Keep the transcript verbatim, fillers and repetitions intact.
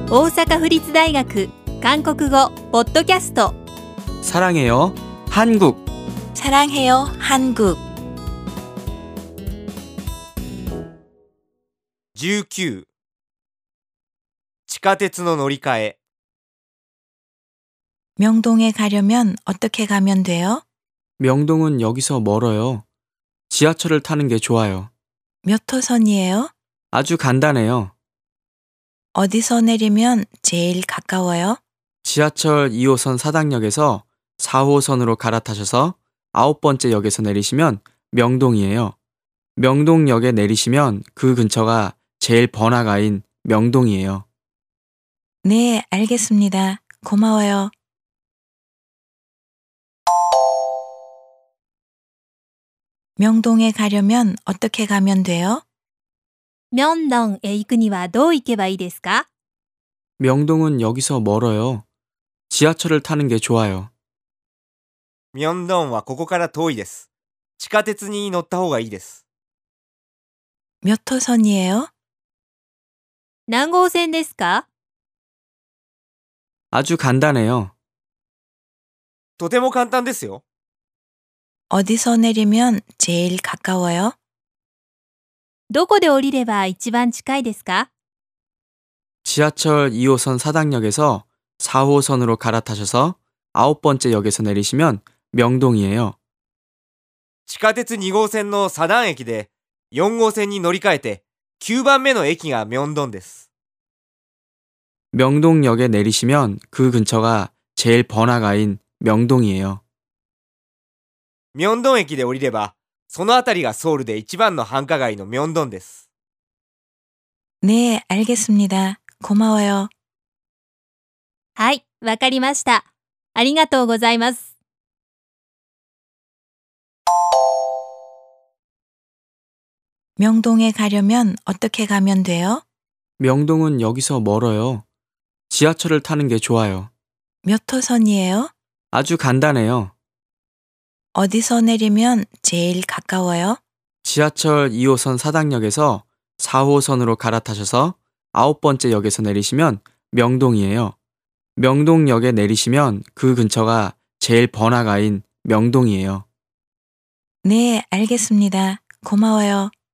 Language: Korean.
大阪府立大学韓国語ポッドキャスト 사랑해요 한국 사랑해요 한국 じゅうきゅう地下鉄の乗り換え 명동에 가려면 어떻게 가면 돼요? 명동은 여기서 멀어요. 지하철을 타는 게 좋아요. 몇 호선이에요? 아주 간단해요. 어디서 내리면 제일 가까워요? 지하철 이 호선 사당역에서 사 호선으로 갈아타셔서 아홉 번째 역에서 내리시면 명동이에요. 명동역에 내리시면 그 근처가 제일 번화가인 명동이에요. 네, 알겠습니다. 고마워요. 명동에 가려면 어떻게 가면 돼요? ミョンドンへ行くにはどう行けばいいですか？ 명동은 여기서 멀어요. 지하철을 타는 게 좋아요. ミョンドンはここから遠いです。地下鉄に乗った方がいいです。 몇 호선이에요? 何号線ですか？ 아주 간단해요. とても簡単ですよ。 어디서 내리면 제일 가까워요? どこで降りれば一番近いですか？ 지하철 이 호선 사당역에서 사 호선으로 갈아타셔서 아홉 번째 역에서 내리시면 명동이에요. 地下鉄に号線のサダン駅でよん号線に乗り換えてきゅうばんめの駅がミョンドンです。 명동역에 내리시면 그 근처가 제일 번화가인 명동이에요. ミョンドン駅で降りればその辺りがソウルで一番の繁華街のミョンドンです。 네, 알겠습니다. 고마워요. はい、わかりました。ありがとうございます。 명동에 가려면 어떻게 가면 돼요? 명동은 여기서 멀어요. 지하철을 타는 게 좋아요. 몇 호선이에요? 아주 간단해요. 어디서 내리면 제일 가까워요? 지하철 이 호선 사당역에서 사 호선으로 갈아타셔서 아홉 번째 역에서 내리시면 명동이에요. 명동역에 내리시면 그 근처가 제일 번화가인 명동이에요. 네, 알겠습니다. 고마워요.